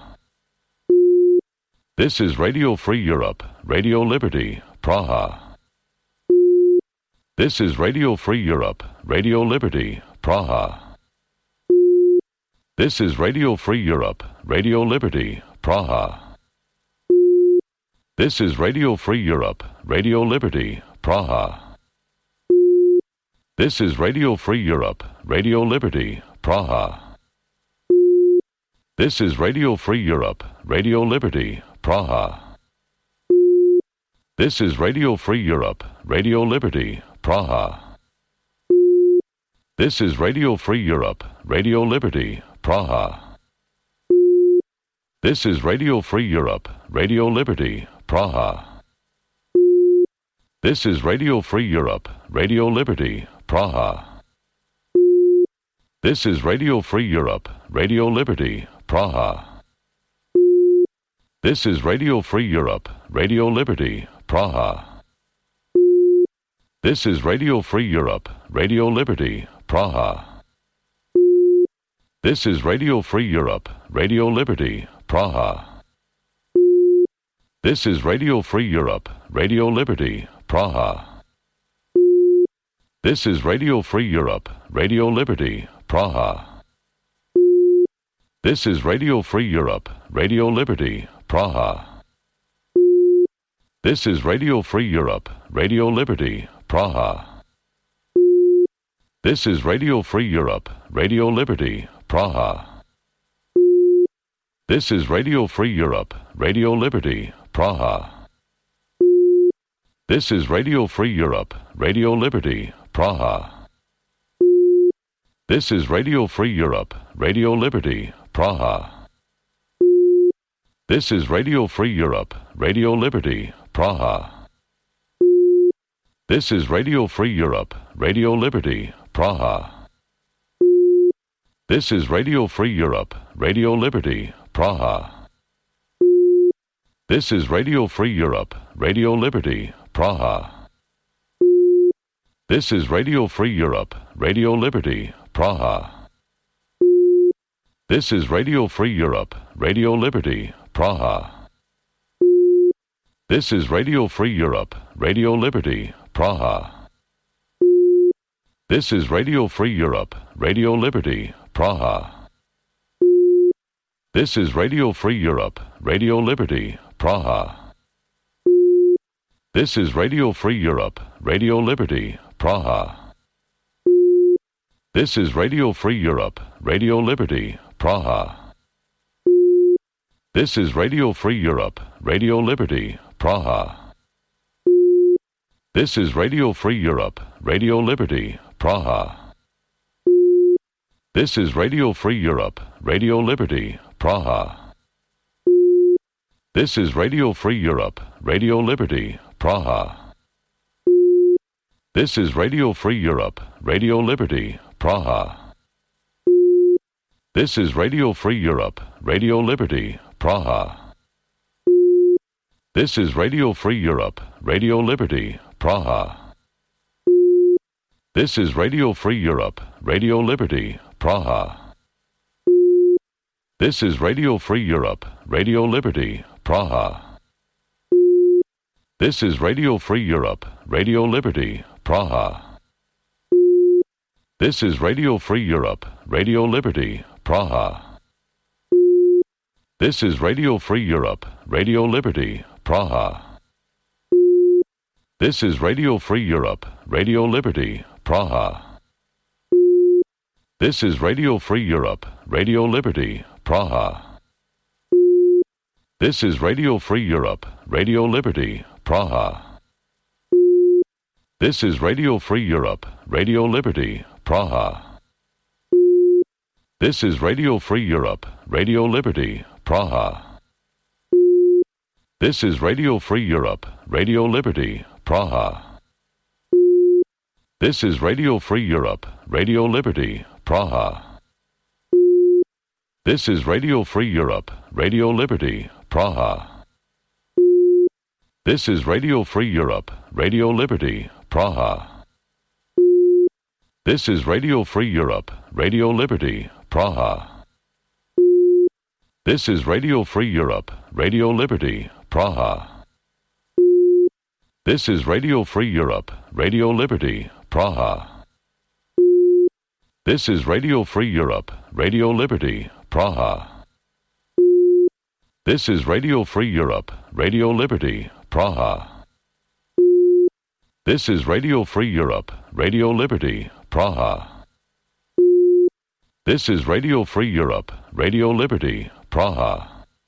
This is Radio Free Europe, Radio Liberty, Praha. This is Radio Free Europe, Radio Liberty, Praha. This is Radio Free Europe, Radio Liberty, Praha. This is Radio Free Europe, Radio Liberty, Praha. This is Radio Free Europe, Radio Liberty, Praha. This is Radio Free Europe, Radio Liberty, Praha. This is Radio Free Europe, Radio Liberty, Praha. This is Radio Free Europe, Radio Liberty, Praha. This is Radio Free Europe, Radio Liberty, Praha. This is Radio Free Europe, Radio Liberty, Praha. This is Radio Free Europe, Radio Liberty, Praha. This is Radio Free Europe, Radio Liberty, Praha. This is Radio Free Europe, Radio Liberty, Praha. This is Radio Free Europe, Radio Liberty, Praha. This is Radio Free Europe, Radio Liberty, Praha. This is Radio Free Europe, Radio Liberty, Praha. This is Radio Free Europe, Radio Liberty, Praha. This is Radio Free Europe, Radio Liberty, Praha. This is Radio Free Europe, Radio Liberty, Praha. This is Radio Free Europe, Radio Liberty, Praha. This is Radio Free Europe, Radio Liberty, Praha. This is Radio Free Europe, Radio Liberty, Praha. This is Radio Free Europe, Radio Liberty, Praha. This is Radio Free Europe, Radio Liberty, Praha. This is Radio Free Europe, Radio Liberty, Praha. This is Radio Free Europe, Radio Liberty, Praha. This is Radio Free Europe, Radio Liberty, Praha. This is Radio Free Europe, Radio Liberty, Praha. This is Radio Free Europe, Radio Liberty, Praha. This is Radio Free Europe, Radio Liberty, Praha. This is Radio Free Europe, Radio Liberty, Praha. This is Radio Free Europe, Radio Liberty, Praha. This is Radio Free Europe, Radio Liberty, Praha. This is Radio Free Europe, Radio Liberty, Praha. This is Radio Free Europe, Radio Liberty, Praha. This is Radio Free Europe, Radio Liberty, Praha. This is Radio Free Europe, Radio Liberty, Praha. This is Radio Free Europe, Radio Liberty, Praha. This is Radio Free Europe, Radio Liberty, Praha. This is Radio Free Europe, Radio Liberty, Praha. This is Radio Free Europe, Radio Liberty, Praha. This is Radio Free Europe, Radio Liberty, Praha. This is Radio Free Europe, Radio Liberty, Praha. This is Radio Free Europe, Radio Liberty, Praha. This is Radio Free Europe, Radio Liberty, Praha. This is Radio Free Europe, Radio Liberty, Praha. This is Radio Free Europe, Radio Liberty, Praha. This is Radio Free Europe, Radio Liberty, Praha. This is Radio Free Europe, Radio Liberty, Praha. This is Radio Free Europe, Radio Liberty, Praha. This is Radio Free Europe, Radio Liberty, Praha. This is Radio Free Europe, Radio Liberty, Praha. This is Radio Free Europe, Radio Liberty, Praha. This is Radio Free Europe, Radio Liberty, Praha. This is Radio Free Europe, Radio Liberty, Praha. This is Radio Free Europe, Radio Liberty, Praha. This is Radio Free Europe, Radio Liberty, Praha. This is Radio Free Europe, Radio Liberty, Praha. This is Radio Free Europe, Radio Liberty, Praha. This is Radio Free Europe, Radio Liberty, Praha. This is Radio Free Europe, Radio Liberty, Praha.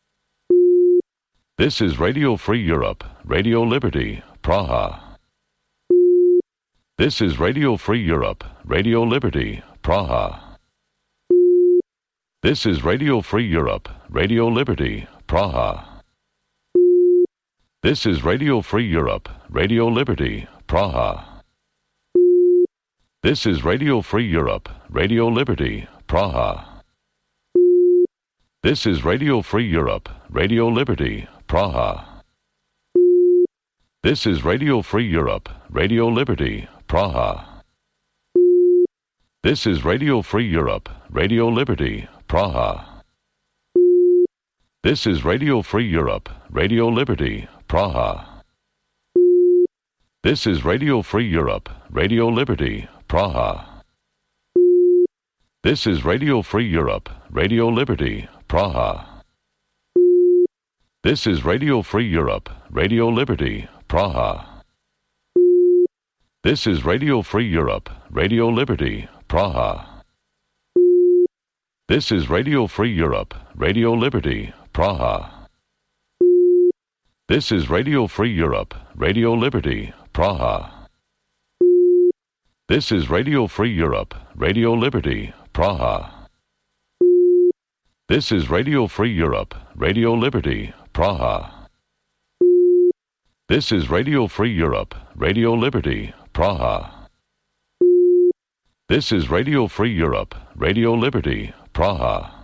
This is Radio Free Europe, Radio Liberty, Praha. This is Radio Free Europe, Radio Liberty, Praha. This is Radio Free Europe, Radio Liberty, Praha. This is Radio Free Europe, Radio Liberty, Praha. This is Radio Free Europe, Radio Liberty, Praha. This is Radio Free Europe, Radio Liberty, Praha. This is Radio Free Europe, Radio Liberty, Praha. This is Radio Free Europe, Radio Liberty, Praha. This is Radio Free Europe, Radio Liberty, Praha. This is Radio Free Europe, Radio Liberty, Praha. This is Radio Free Europe, Radio Liberty, Praha. This is Radio Free Europe, Radio Liberty, Praha. This is Radio Free Europe, Radio Liberty, Praha. This is Radio Free Europe, Radio Liberty, Praha. This is Radio Free Europe, Radio Liberty, Praha. This is Radio Free Europe, Radio Liberty, Praha. This is Radio Free Europe, Radio Liberty, Praha. This is Radio Free Europe, Radio Liberty, Praha. This is Radio Free Europe, Radio Liberty, Praha.